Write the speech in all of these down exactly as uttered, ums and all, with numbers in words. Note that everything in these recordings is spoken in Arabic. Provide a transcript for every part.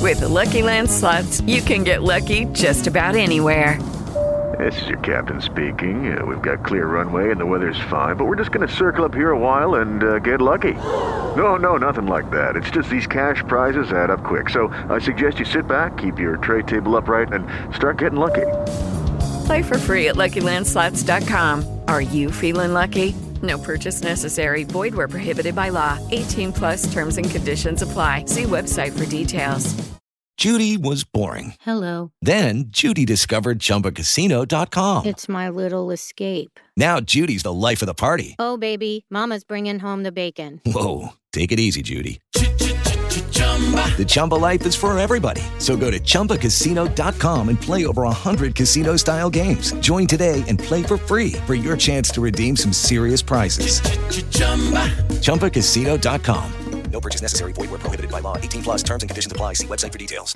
With Lucky Land Slots, you can get lucky just about anywhere. This is your captain speaking. Uh, we've got clear runway and the weather's fine, but we're just going to circle up here a while and uh, get lucky. No, no, nothing like that. It's just these cash prizes add up quick. So I suggest you sit back, keep your tray table upright, and start getting lucky. Play for free at Lucky Land Slots dot com. Are you feeling lucky? No purchase necessary. Void where prohibited by law. eighteen plus terms and conditions apply. See website for details. Judy was boring. Hello. Then Judy discovered Chumba Casino dot com. It's my little escape. Now Judy's the life of the party. Oh, baby, mama's bringing home the bacon. Whoa, take it easy, Judy. The Chumba life is for everybody. So go to Chumba Casino dot com and play over one hundred casino-style games. Join today and play for free for your chance to redeem some serious prizes. Chumba Casino dot com. No purchase necessary. Void where prohibited by law. eighteen plus terms and conditions apply. See website for details.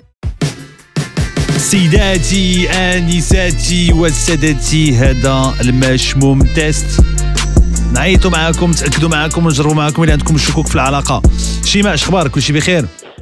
سيداتي آنساتي وسادتي، هذا المشموم تيست. نعيطوا معاكم، تأكدوا معاكم ونجربوا معاكم إذا عندكم الشكوك في العلاقة. شيماء، اش اخبارك؟ كلشي بخير؟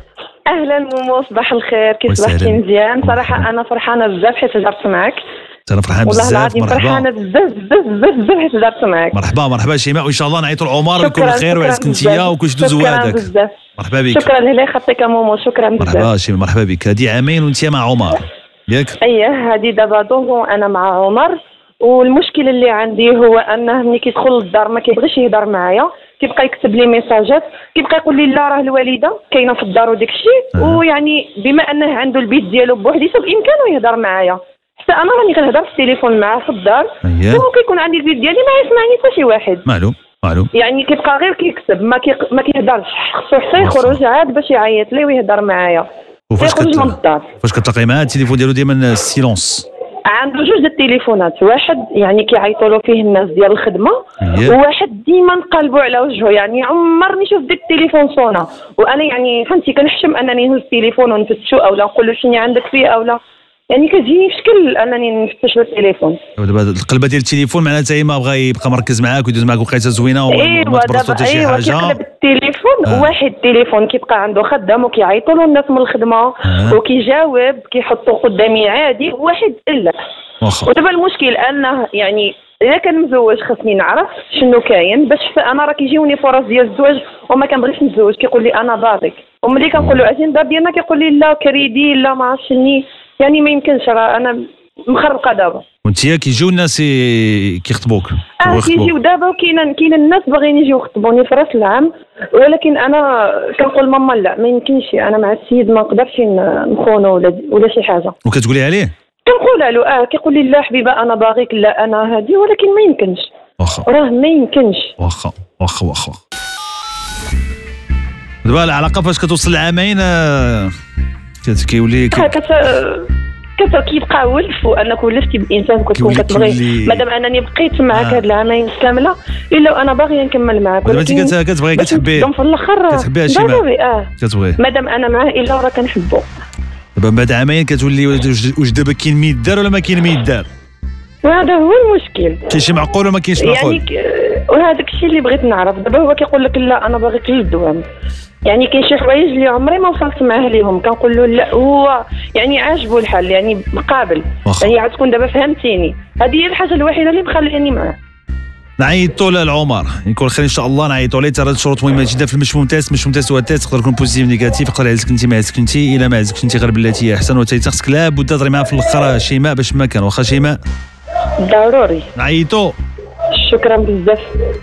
اهلا مومو، صباح الخير، كيف صباحتي؟ مزيان صراحه. انا فرحانه بزاف حيت هضرت معك. انا فرحان بزاف. والله العظيم فرحانه بزاف بزاف بزاف بزاف حيت هضرت معك. مرحبا مرحبا شيماء، وان شاء الله نعيطوا لعمر ويكون بخير ويعزك انتيا وكلشي دوز هذاك. مرحبا بك. شكرا لله خطيك مومو، شكرا بزاف. مرحبا شيماء، مرحبا بك. هذه عامين وانت مع عمر ياك؟ اييه، هذه دابا دوزون انا مع عمر، والمشكل اللي عندي هو انه ملي كيدخل للدار ما كيبغيش يهضر معايا، كيبقى يكتب لي ميساجات، كيبقى يقول لي لا راه الوالده كاينه في الدار وداك الشيء. أه. ويعني بما انه عنده البيت ديالو بوحديته بامكانه يهضر معايا، حتى انا راني كنهضر في التليفون معاه في الدار. أيه. وكيكون عندي البيت ديالي ما يسمعني حتى شي واحد. معلوم معلوم. يعني كيبقى غير كيكتب، ما كي ما كيهضرش، خصو حتى يخرج عاد باش يعيط لي ويهضر معايا. وفاش كت... فاش كتلاقي معاه التليفون ديالو ديما سيلونس؟ عنده جوج د التليفونات، واحد يعني كيعيطوا له فيه الناس ديال الخدمه، yeah. وواحد ديما نقلبوا على وجهه، يعني عمرني شفت ديك التليفون صونا، وانا يعني فهمتي كنحشم انني نهز التليفون ونفتشو اولا نقول له شنو عندك فيه اولا، يعني كتجيني في شكل انني نفتش التليفون. دابا القلبه ديال التليفون معناتها هي ما بغى يبقى مركز معاك ويدوز معاك وقيته زوينه وما تبرزو حتى شي حاجه. ايوا كيقلب التليفون. آه. واحد التليفون كيبقى عنده خدام وكيعيطوا له الناس من الخدمه. آه. وكيجاوب كيحطوا قدامي عادي، واحد لا. ودابا المشكل انه يعني اذا كان مزوج خاصني نعرف شنو كاين، باش انا راه كيجيوني فرص ديال الزواج وما كنبغيش نتزوج، كيقول لي انا باغيك، وملي كنقول له عزيز دار ديالنا كيقول لي لا كريدي لا ما عرفتش شني، يعني ما يمكنش، راه انا مخربقه دابا. وانت كيجيو الناس كيخطبوك؟ اه كيجيو دابا، وكاين كاين الناس باغيين يجيو يخطبوني في راس العام، ولكن انا كنقول ماما لا ما يمكنش، انا مع السيد ما نقدرش نخونو ولا ولا شي حاجه. وكتقولي عليه؟ كنقول له اه كيقول لي لا حبيبه انا باغيك، لا انا هادي، ولكن ما يمكنش. واخا راه ما يمكنش. واخا واخا واخا. دابا العلاقه فاش كتوصل لعامين كيولي كيبقى ولف، وانك ولفتي بانسان كتكون كتبغي، مادام انني بقيت معاك هاد العامين كامله الا انا باغيه نكمل معاك. دابا انت كتبغي كتحبيه في الاخر كتحبيه شي اه كتبغي مادام انا معاه الا راه كنحبو. دابا بعد عامين كتولي واش دابا كاين ما يدار ولا ما كاين ما يدار؟ وهذا هو المشكل. كاين شي معقول ولا ما كاينش معقول؟ يعني وهذاك الشيء اللي بغيت نعرف. دابا هو كيقول لك لا انا باغيك للدوام، يعني كاين شي حوايج اللي عمري ما وصلت معاه ليهم كنقول له لا، هو يعني عاجبو الحال، يعني مقابل، يعني عاد تكون دابا فهمتيني. هذه هي الحاجه الوحيده اللي مخليني معاه. نعيطوا للعمر يكون خير ان شاء الله، نعيطوا ليه. ترى الشروط مهمه جدا في المشموم تيست. المشموم تيست هو التيست يقدر يكون بوزيتيف نيجاتيف، يقدر يعزك انت ما يعزك انت، الا ما عزك انت غير بالتي هي احسن، وتا خصك لابد تهضري معاه في الاخر شيماء باش ما كان. واخا شيماء ضروري نعيطوا. شكرا بزاف.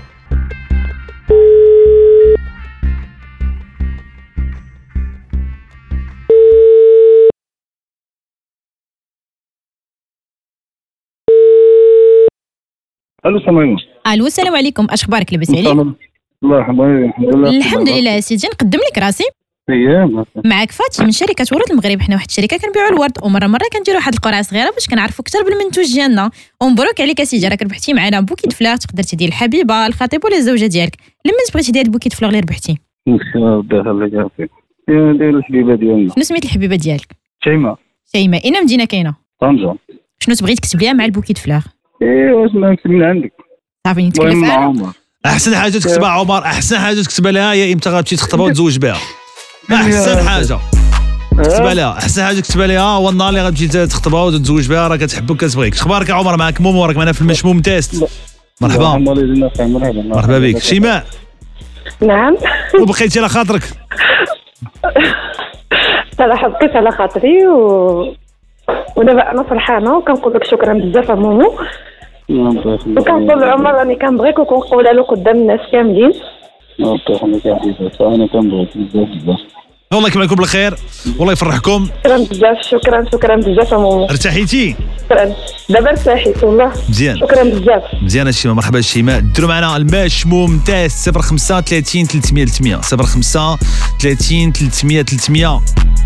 الو سميمه. الو السلام عليكم، اش اخبارك؟ لاباس عليك؟ الله يحفظك. الحمد لله. الحمد لله يا سيدي. نقدم لك راسي. اييه معك فاتي من شركه ورود المغرب. حنا واحد الشركه كنبيعوا الورد، ومره مره كنديروا واحد القرعه صغيره باش كنعرفوا اكثر بالمنتوج ديالنا. ومبروك عليك يا سيدي، راك ربحتي معنا بوكيت فلاغ، تقدر تدير الحبيبه الخطيب ولا الزوجه ديالك. لما بغيتي دير البوكيت فلاغ اللي ربحتي؟ ان شاء الله الله يعافيك. دير الحبيبه ديالنا. شنو سميت الحبيبه ديالك؟ شيماء. شيماء. اين مدينه كاينه؟ طنجه. شنو تبغي تكتب ليها مع البوكيت فلاغ؟ ايوا اسمع نكتب من عندك. صافي نتكلف انا. احسن حاجه تكتبها عمر، احسن حاجه تكتبها لها هي امتى غتمشي تخطبها وتزوج بها. احسن حاجه تكتبها لها احسن حاجه كتبها لها هو النهار اللي غتمشي تخطبها وتتزوج بها راه كتحبك كتبغيك. اخبارك يا عمر؟ معك مومو راك معنا في المشموم تيست. مرحبا مرحبا بك. شيماء نعم وبقيتي على خاطرك؟ صراحه بقيت على خاطري و ودابا انا فرحانه وكنقول لك شكرا بزاف يا مومو. وكنقول لعمر راني كنبغيك وكنقولها له قدام الناس كاملين. الله يخليك يا حبيبتي انا كنبغيك بزاف بزاف. والله يكمل لكم بالخير والله يفرحكم. شكرا بزاف شكرا شكرا بزاف يا مومو. ارتحيتي؟ شكرا دابا ارتحيت والله. مزيان شكرا بزاف. مزيان الشيماء. مرحبا الشيماء. ديروا معنا المشموم تيست صفر خمسة ثلاثين ثلاثمية ثلاثمية صفر خمسة ثلاثين ثلاثمية ثلاثمية.